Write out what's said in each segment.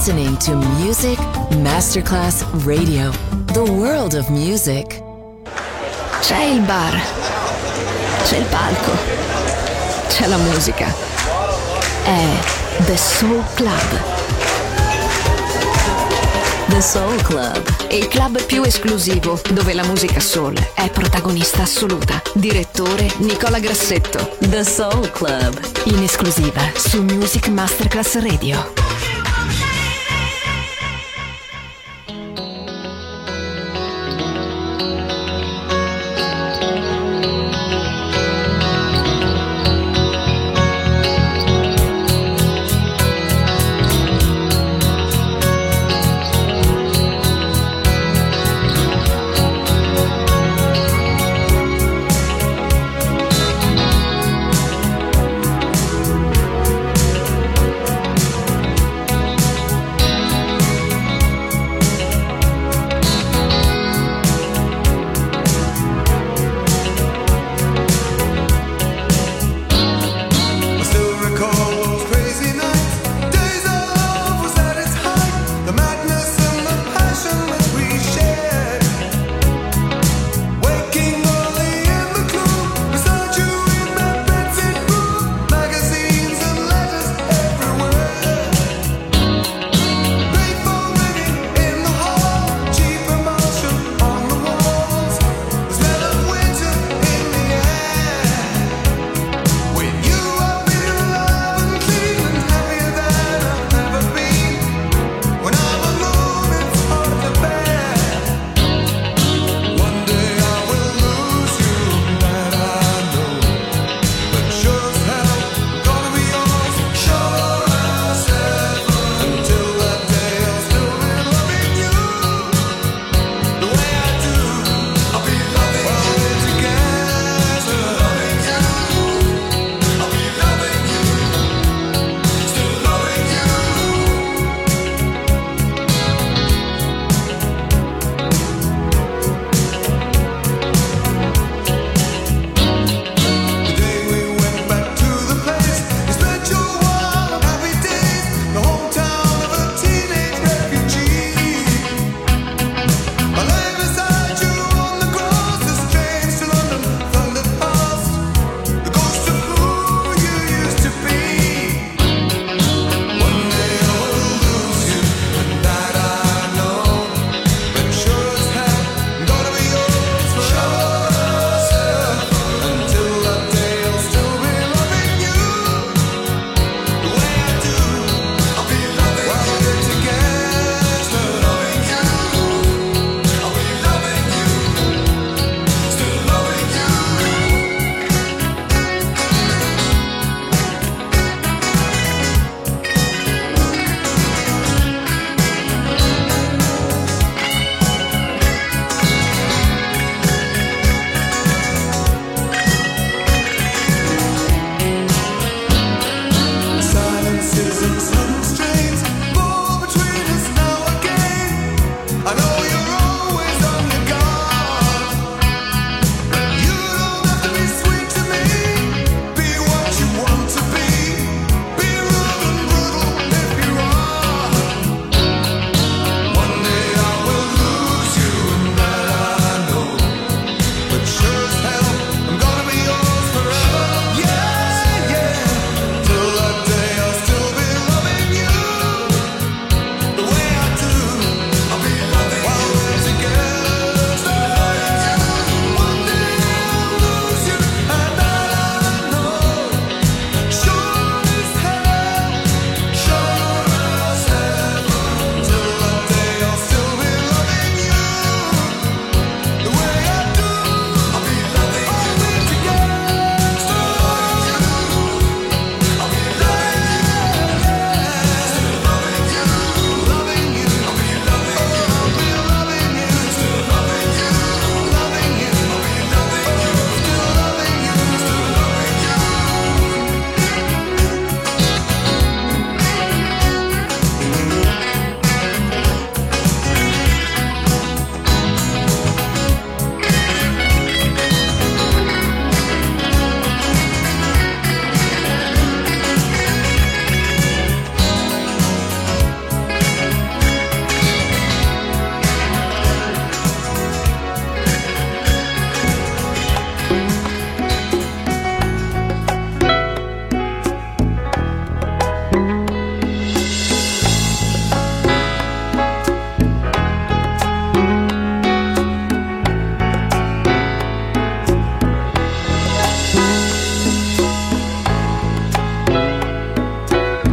listening to Music Masterclass Radio, the world of music. C'è il bar, c'è il palco, c'è la musica. È The Soul Club. The Soul Club, Il club più esclusivo dove la musica soul è protagonista assoluta. Direttore Nicola Grassetto. The Soul Club, In esclusiva su Music Masterclass Radio.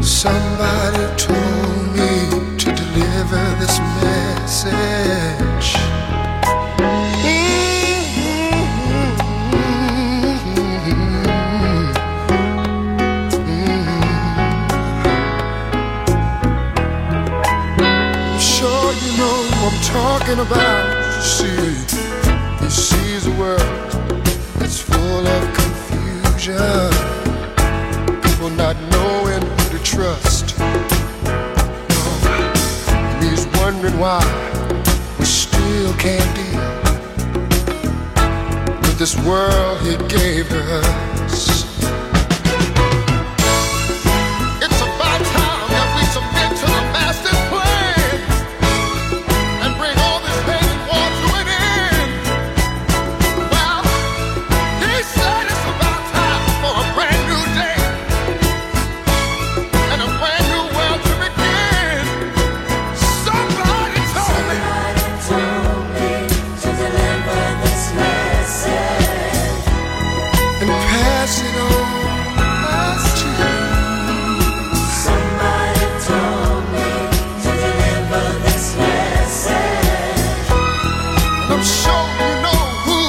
Somebody told me to deliver this message. I'm sure you know what I'm talking about. You see, he sees a world that's full of confusion, people not knowing who to trust. And he's wondering why we still can't deal with this world he gave us. It's about time that we submit to the master's plan and bring all this pain and war to an end. Well, he said it's about time for a brand new day and a brand new world to begin. Somebody told me to deliver this message and pass it on to you. Somebody told me to deliver this message, and I'm sure you know who.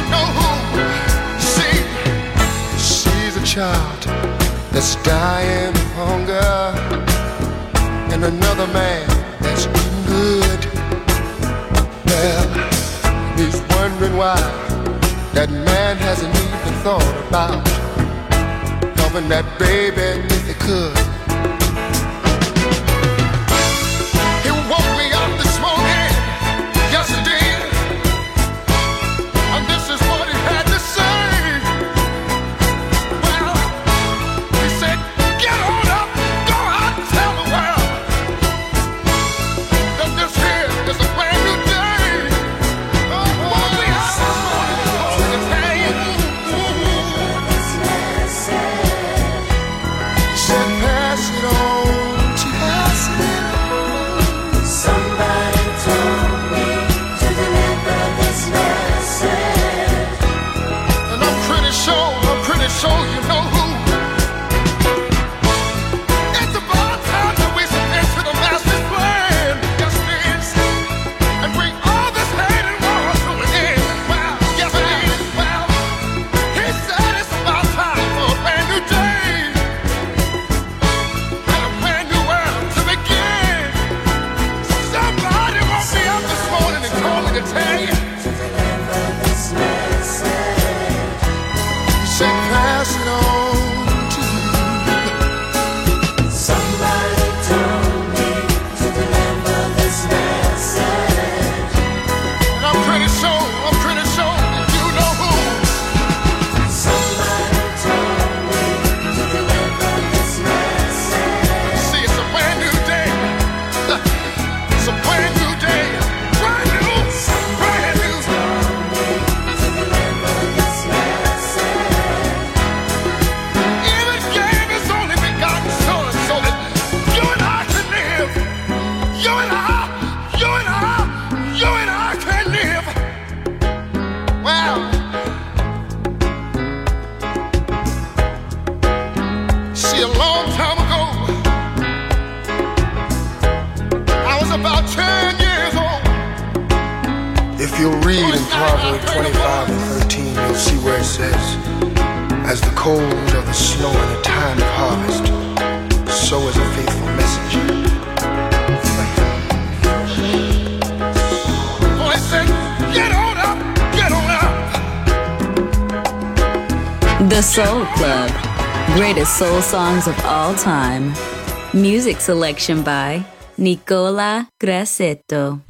See, she's a child that's dying of hunger, and another man that's eating good. Well, he's wondering why that man hasn't even thought about helping that baby if he could. He woke me up this morning, yes he did, and this is what he had to say. Well, he said, get on up, go out and tell the world that this here is a brand new day. Woke me up this morning, told me to tell you. He said, pass it on to you. Somebody told me to deliver this message, and I'm pretty sure you know who. It's about time that we submit to the master's plan. Yes, it is. And bring all this hate and war to an end. Well, yes, it is. Well, he said it's about time for a brand new day and a brand new world to begin. Somebody woke me up this morning and told me to tell you. He said, pass it on to you. Somebody told me to deliver this message, and I'm pretty sure that you know who. Somebody told me to deliver this message. See, it's a brand new day. It's a brand new day. Brand new. Even gave his only begotten Son so that you and I can live. You and I can live. Well, see, a long time ago, I was about 10 years old. If you'll read in Proverbs 25:13, you'll see where it says, as the cold of the snow in the time of harvest, so is a faithful messenger. So I said, get on up, get on up. The Soul Club. Greatest soul songs of all time. Music selection by Nicola Grassetto.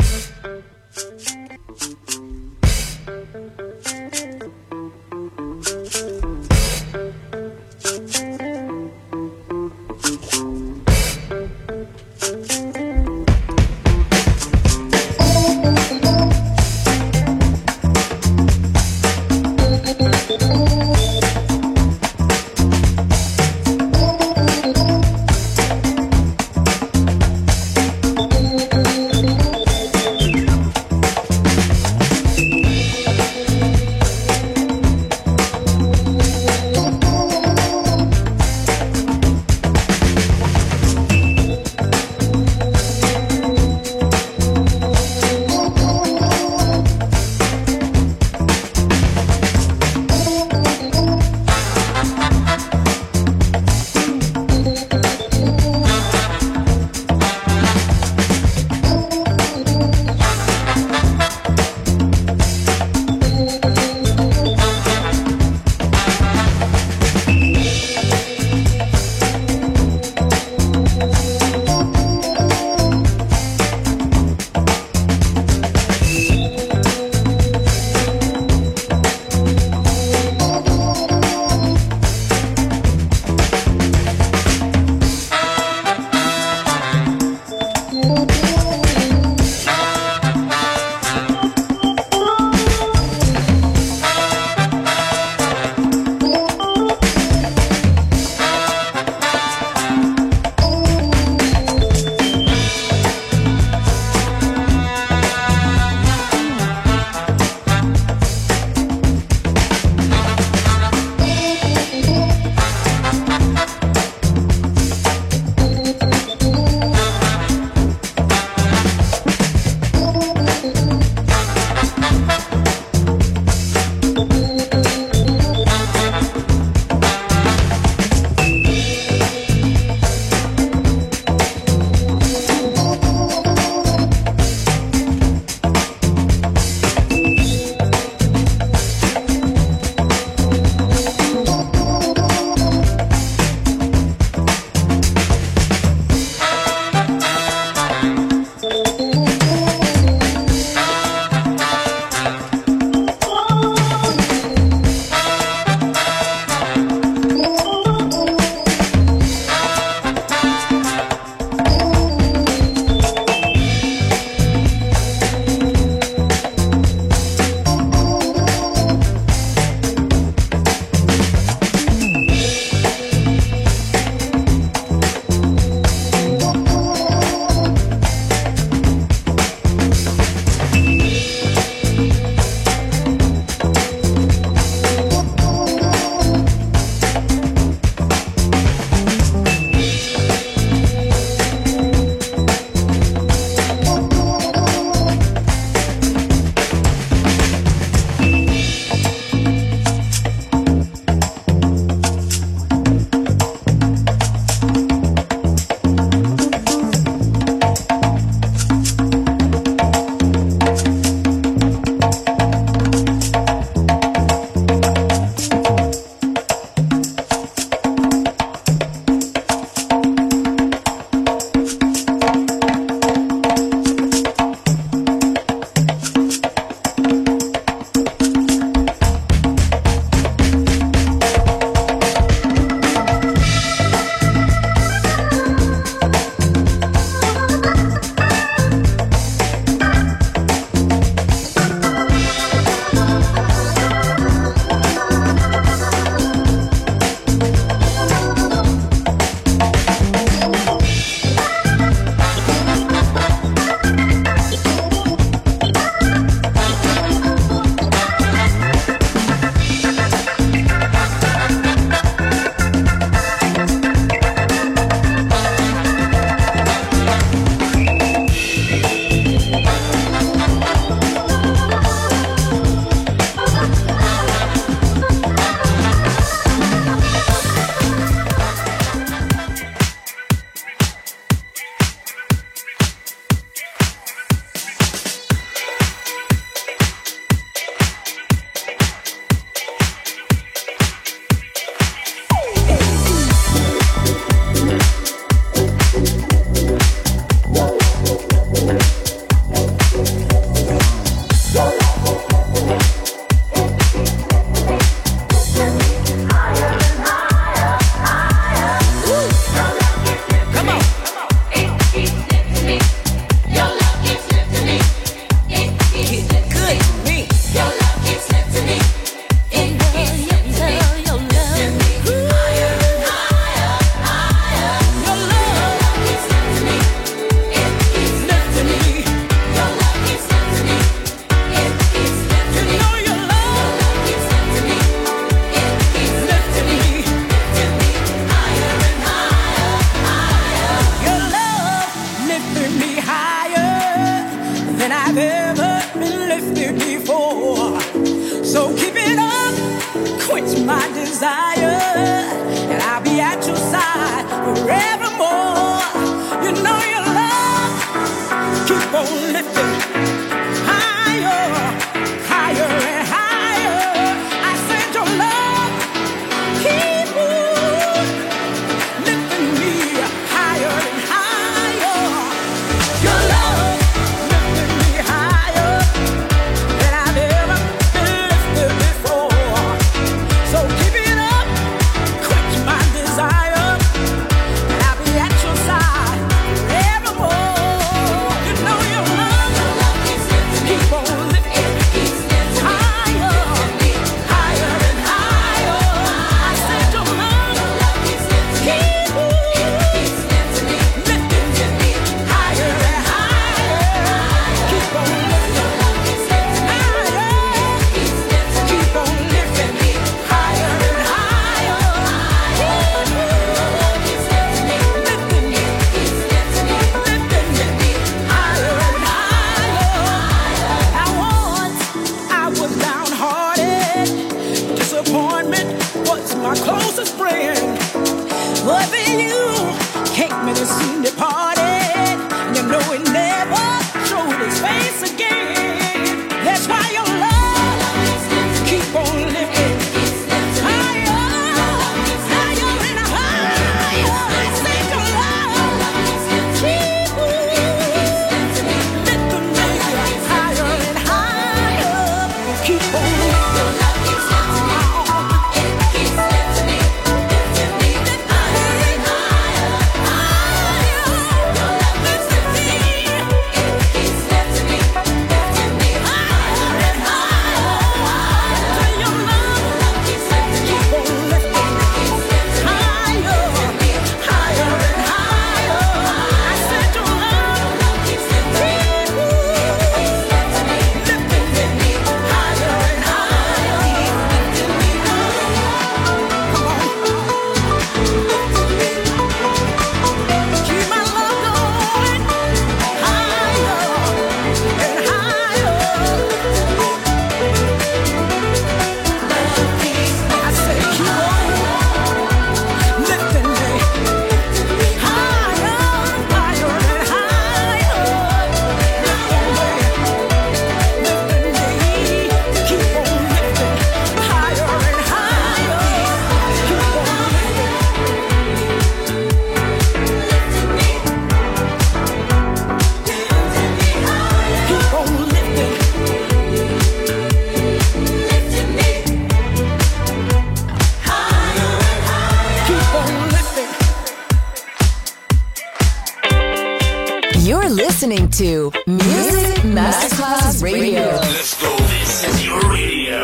You're listening to Music Masterclass Radio. Let's go. This is your radio.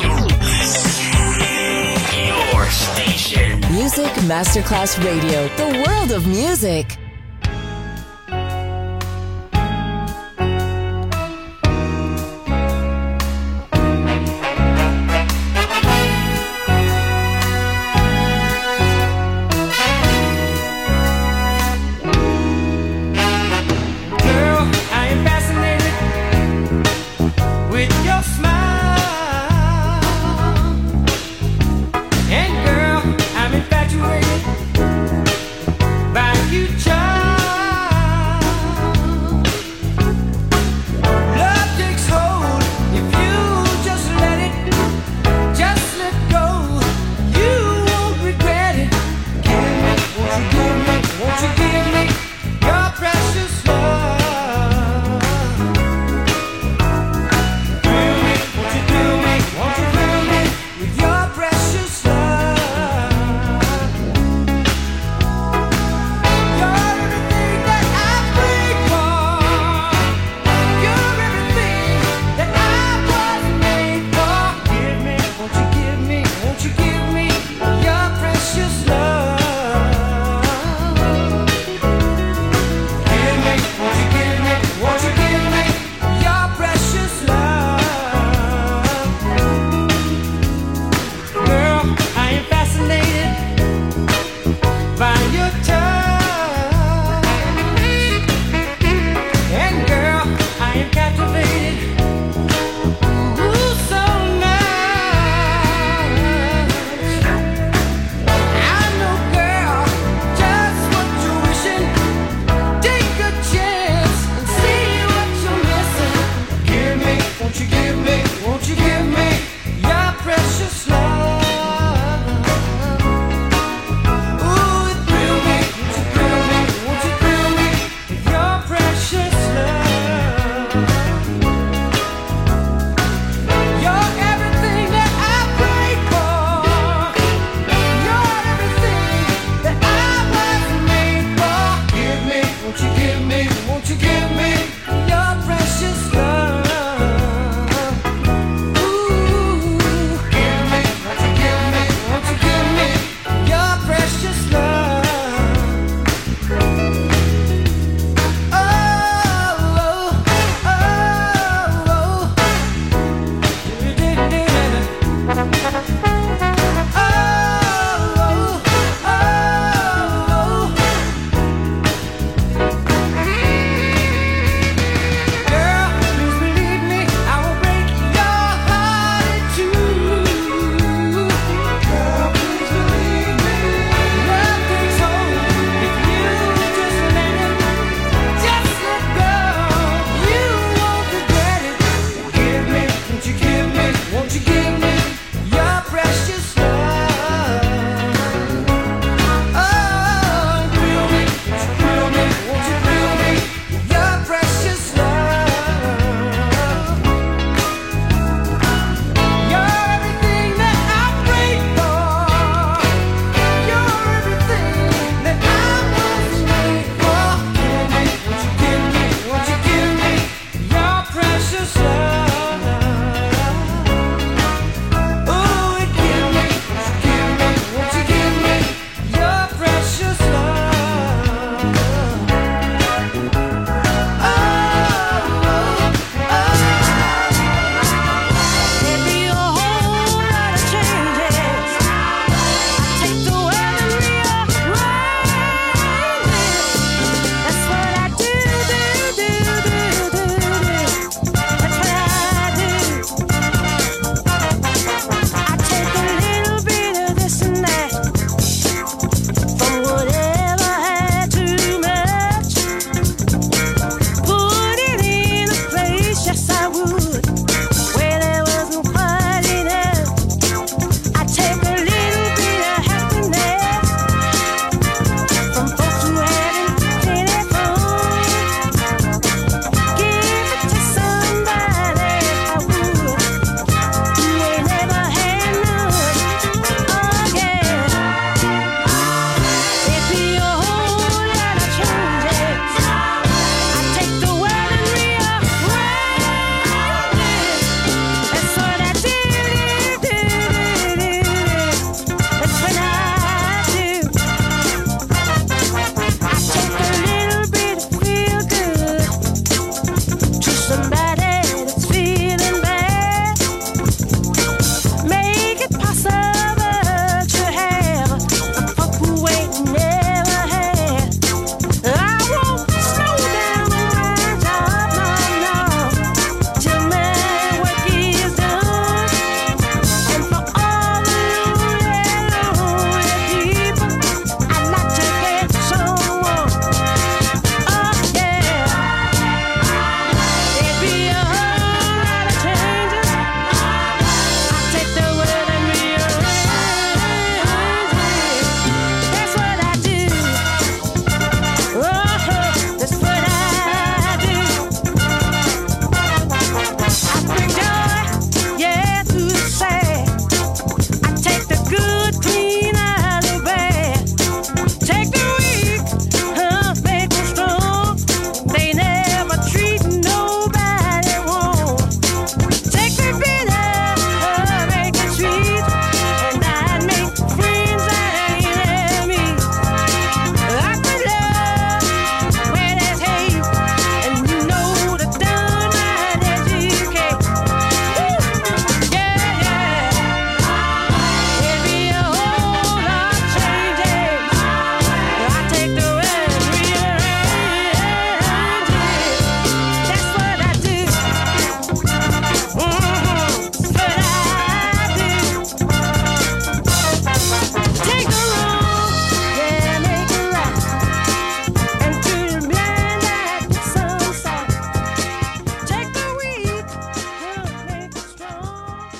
Your station. Music Masterclass Radio. The world of music. By you, child.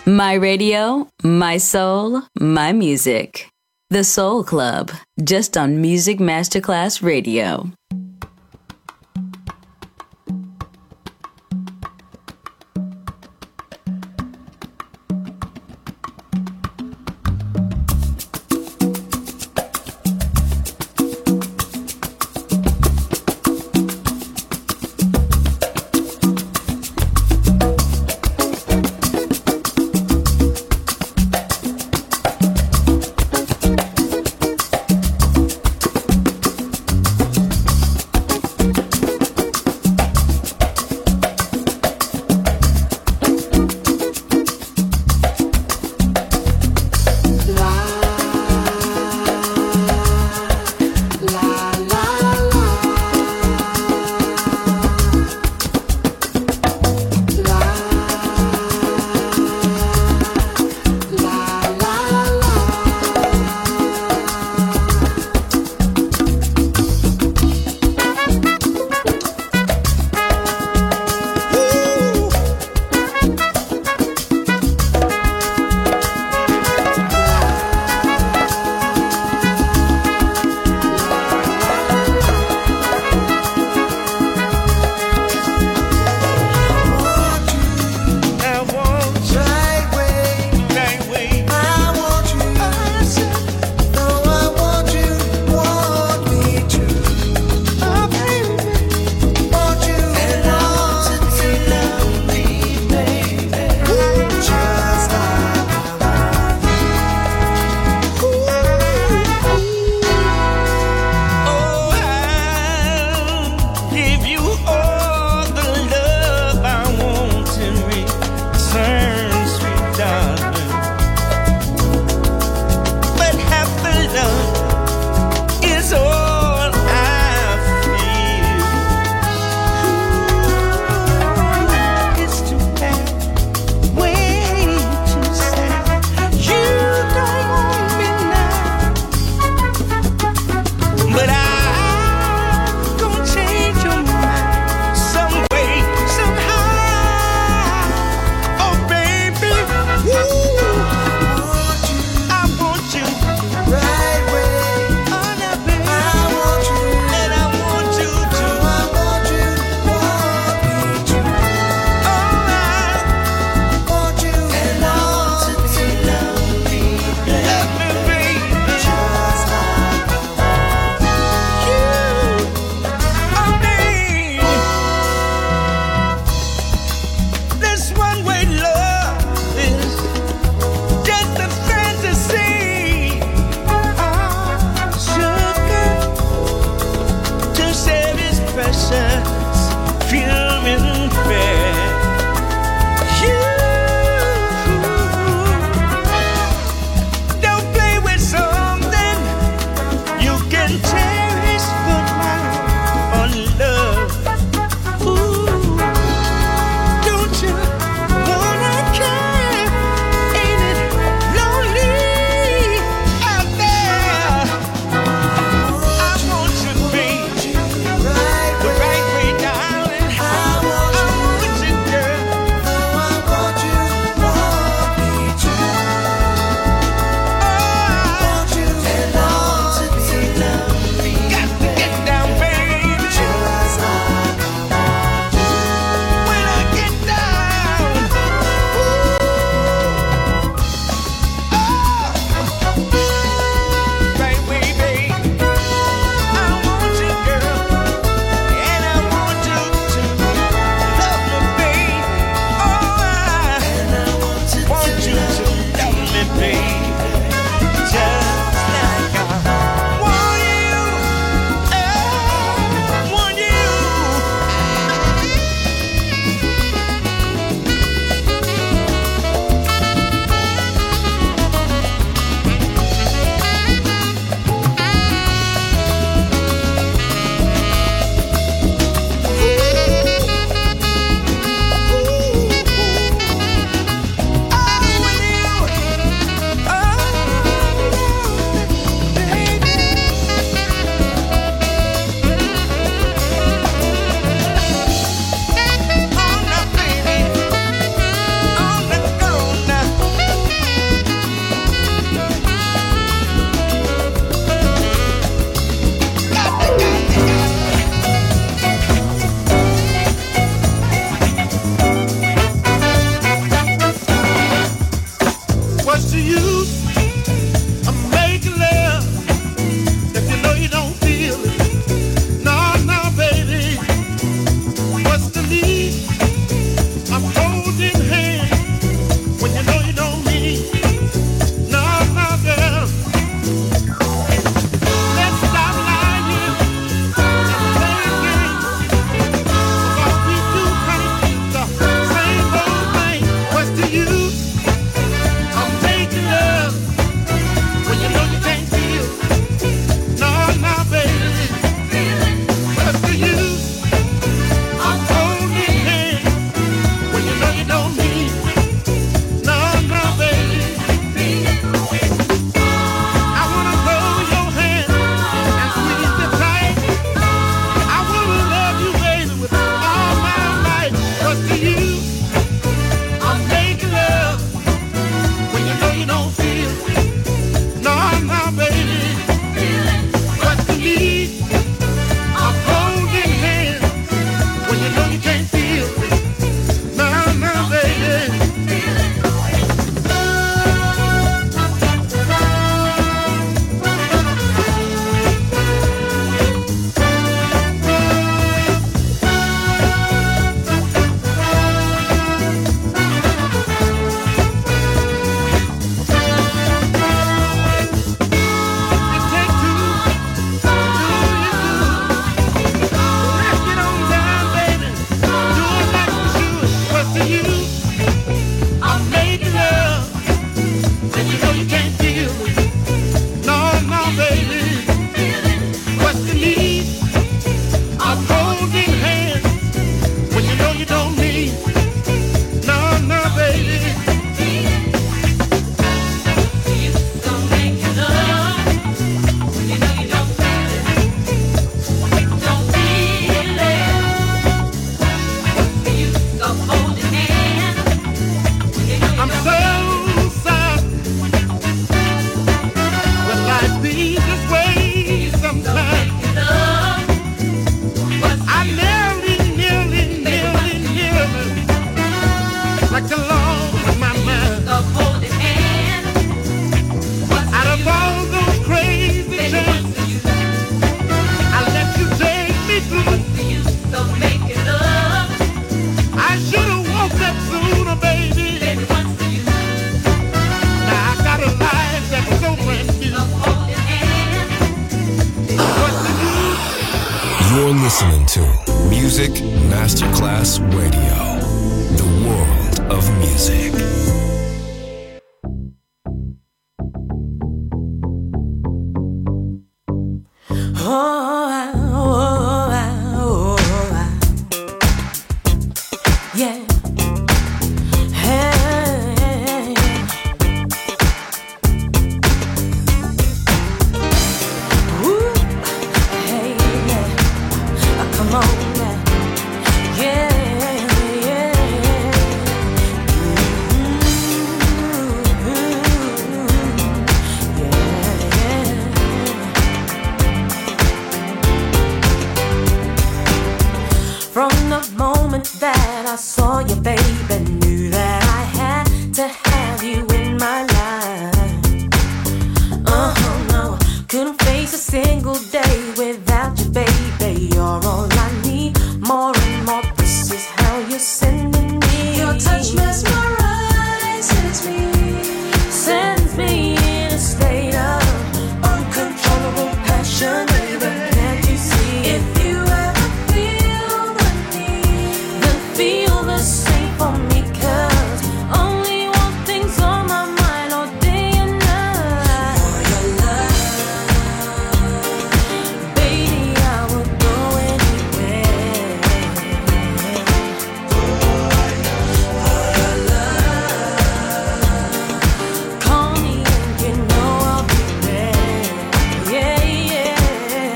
My radio, my soul, my music. The Soul Club, just on Music Masterclass Radio. You're listening to Music Masterclass Radio, the world of music. Yeah. That I saw you, baby, knew that I had to have you in my life. No, couldn't face a single day without you, baby. You're all I need, more and more. This is how you're sending me. Your touch mesmerizes me, sends me in a state of uncontrollable passion, baby. Can't you see? If you ever feel the need, feel the same for me, 'cause only one thing's on my mind all day and night. For your love, baby, I will go anywhere. For your love, call me and you know I'll be there. Yeah, yeah.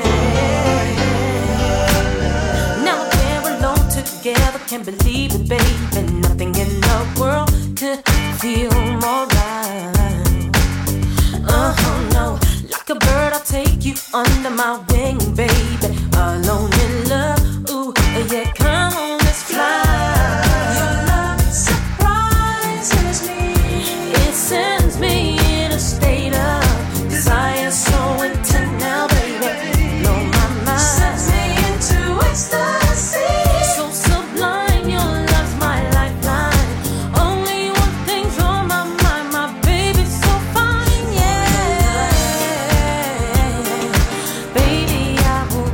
Now we're alone together, can't believe it, baby. Nothing in the world could feel more right. No, like a bird, I'll take you under my wing, baby. Alone in love, ooh, yeah, come on, let's fly. Your love surprises me. It sends me in a state of desire so intense now, baby. Blow my mind, sends me into ecstasy. So sublime, your love's my lifeline. Only one thing's on my mind, my baby's so fine, yeah. Baby, I will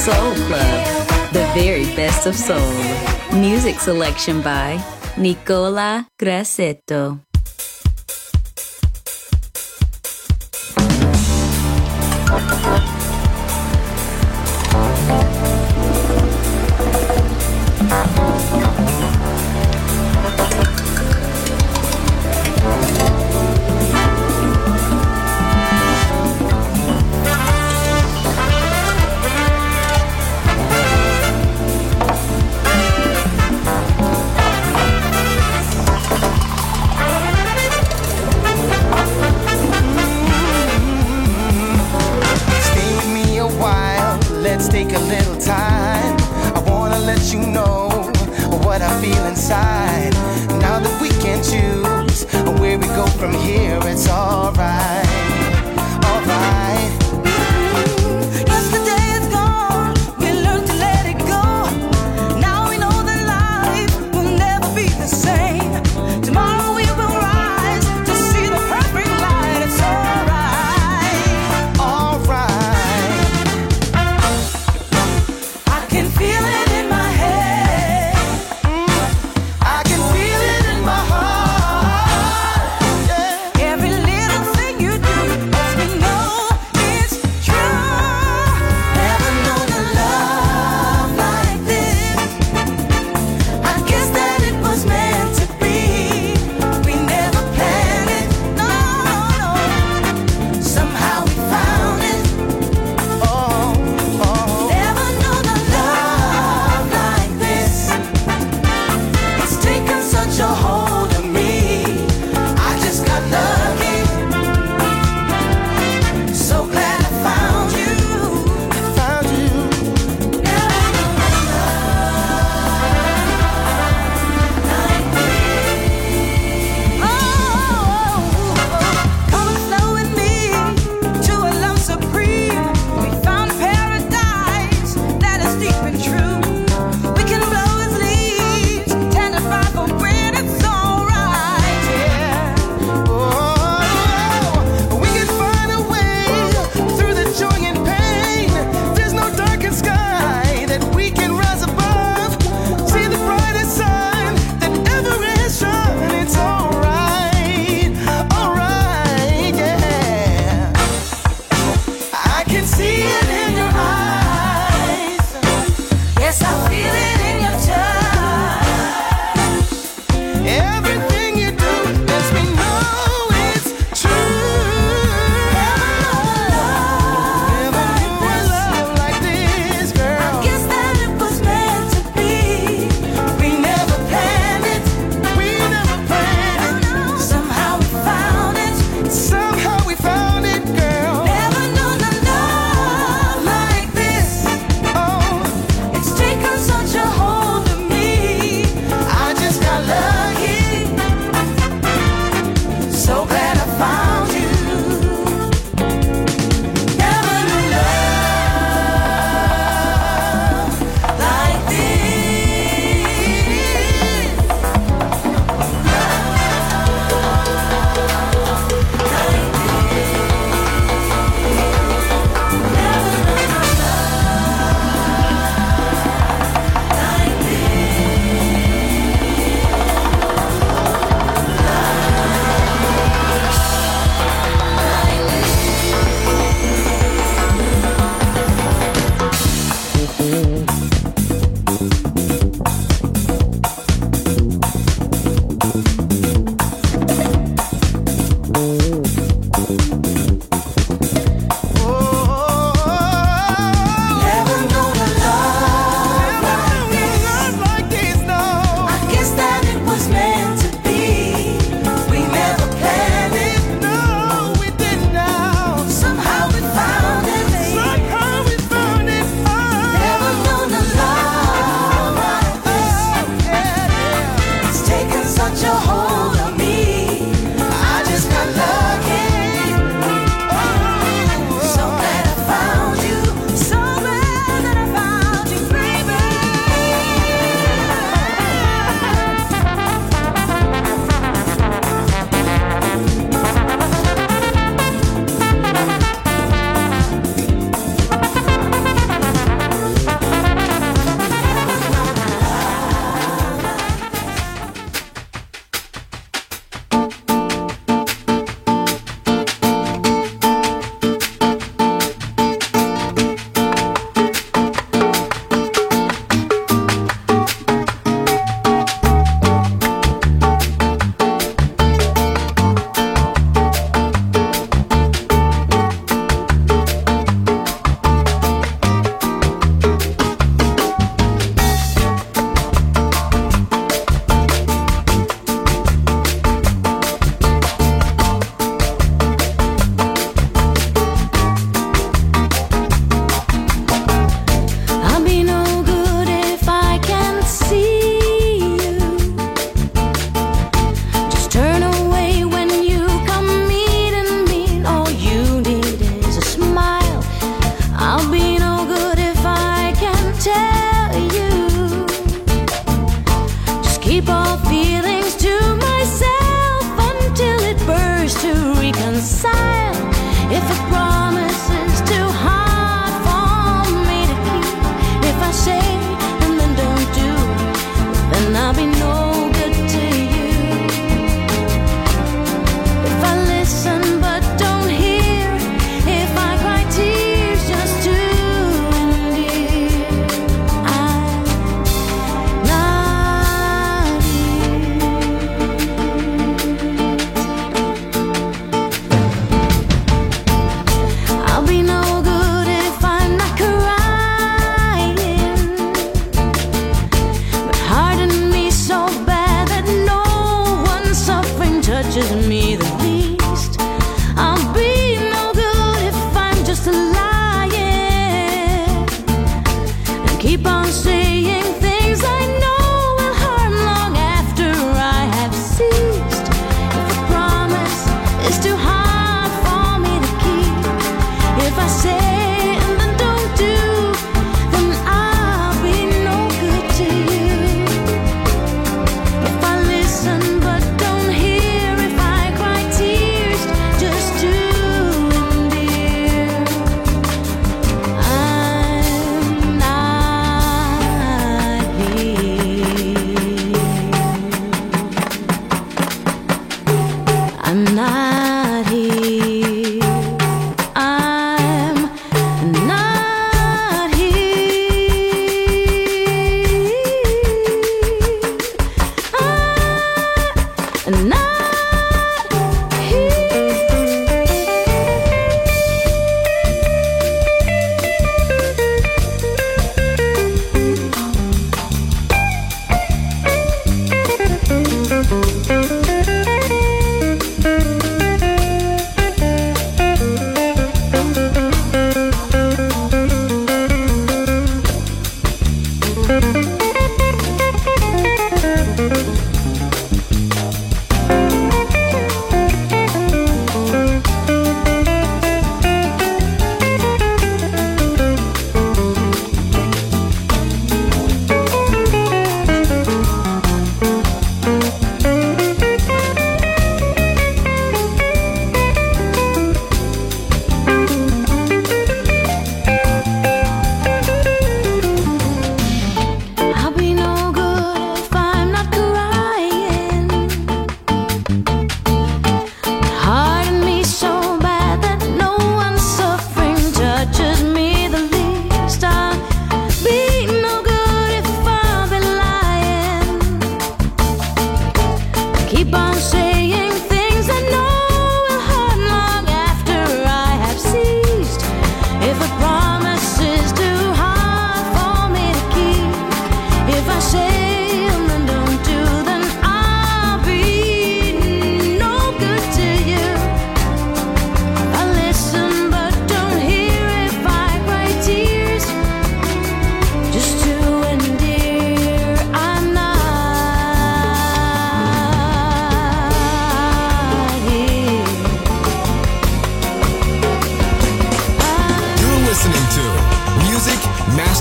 Soul Club, the very best of soul. Music selection by Nicola Grassetto.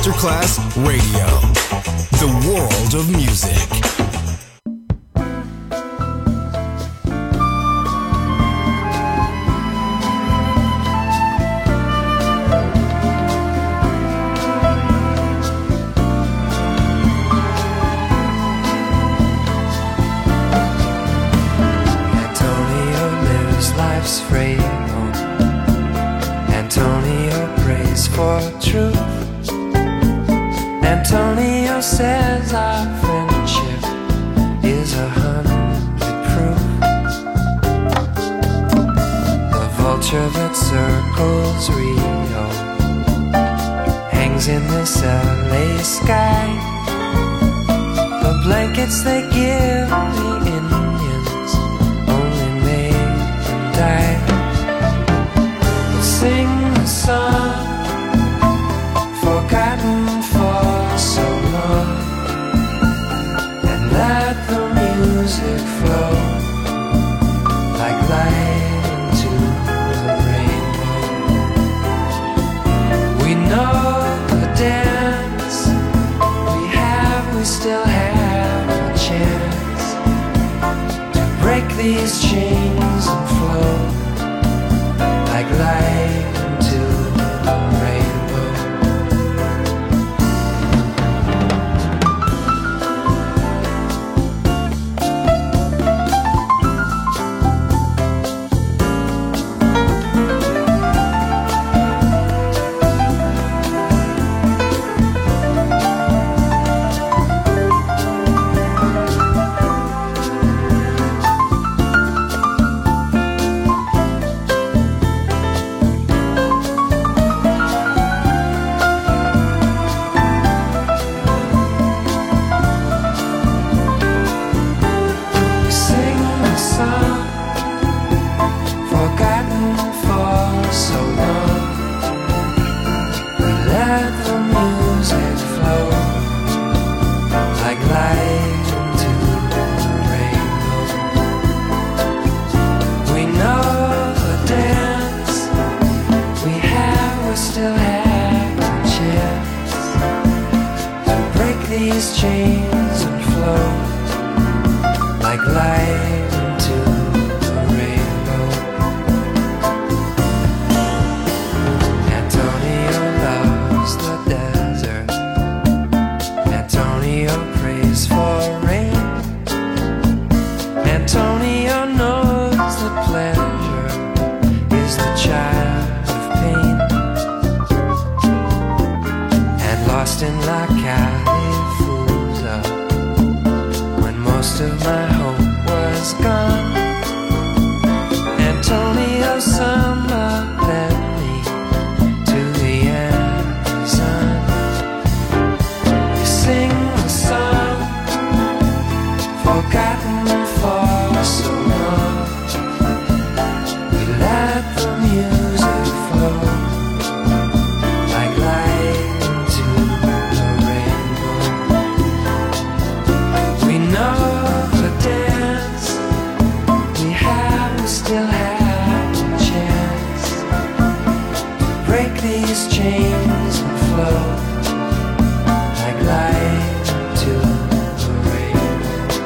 Masterclass Radio, the world of music. Antonio says our friendship is 100 proof. The vulture that circles Rio hangs in this LA sky. The blankets they give the Indians only made them die. But sing the song forgotten for so long, and let the music flow like light into the rainbow. We know the dance, we still have a chance to break these chains and flow like light into the rainbow. These chains and flow like light into the rainbow. Antonio loves the desert. Antonio prays for rain. Antonio knows that pleasure is the child of pain. And lost in La Cali, most of my hope was gone. Antonio Samba led me to the Amazon. We sing the song forgotten for so long. We let the music flow like light into the rainbow. We know still have a chance to break these chains and flow like light into the rainbow.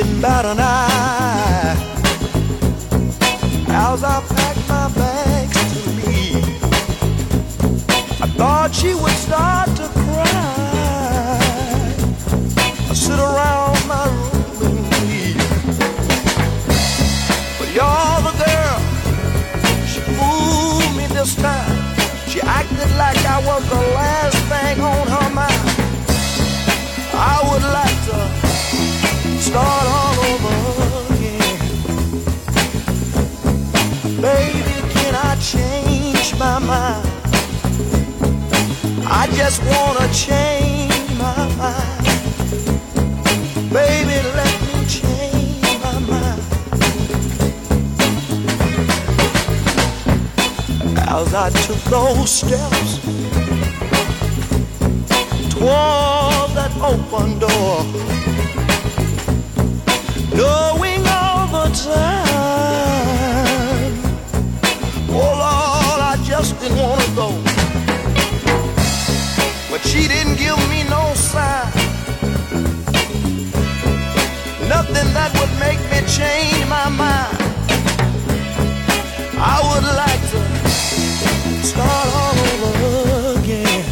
about an eye. As I packed my bags to leave, I thought she would start to cry. I sit around my room and weep, but you're the girl. She fooled me this time. She acted like I was the last thing on her mind. I would like to start all over again. Baby, can I change my mind? I just wanna change my mind. Baby, let me change my mind. As I took those steps toward that open door, knowing all the time, oh Lord, I just didn't want to go. But she didn't give me no sign, nothing that would make me change my mind. I would like to start all over again.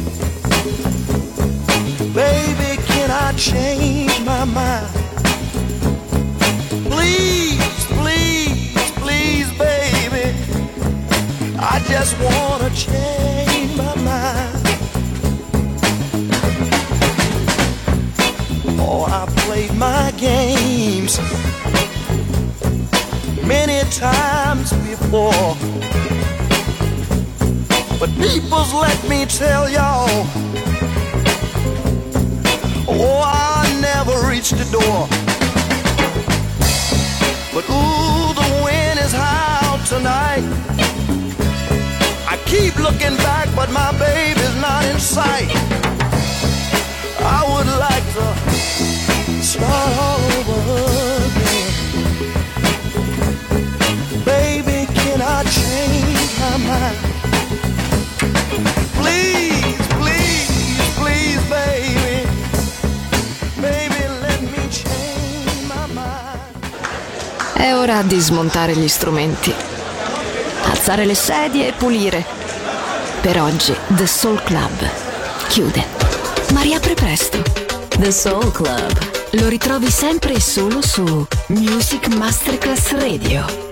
Baby, can I change my mind? Please, please, please, baby, I just wanna change my mind. Oh, I played my games many times before, but people's let me tell y'all, oh, I never reached the door. But ooh, the wind is high out tonight. I keep looking back, but my baby's not in sight. I would like to start all over again. Baby, can I change my mind? Please, please, please, baby. Baby, let me change my mind. È ora di smontare gli strumenti, alzare le sedie e pulire. Per oggi The Soul Club chiude, ma riapre presto. The Soul Club. Lo ritrovi sempre e solo su Music Masterclass Radio.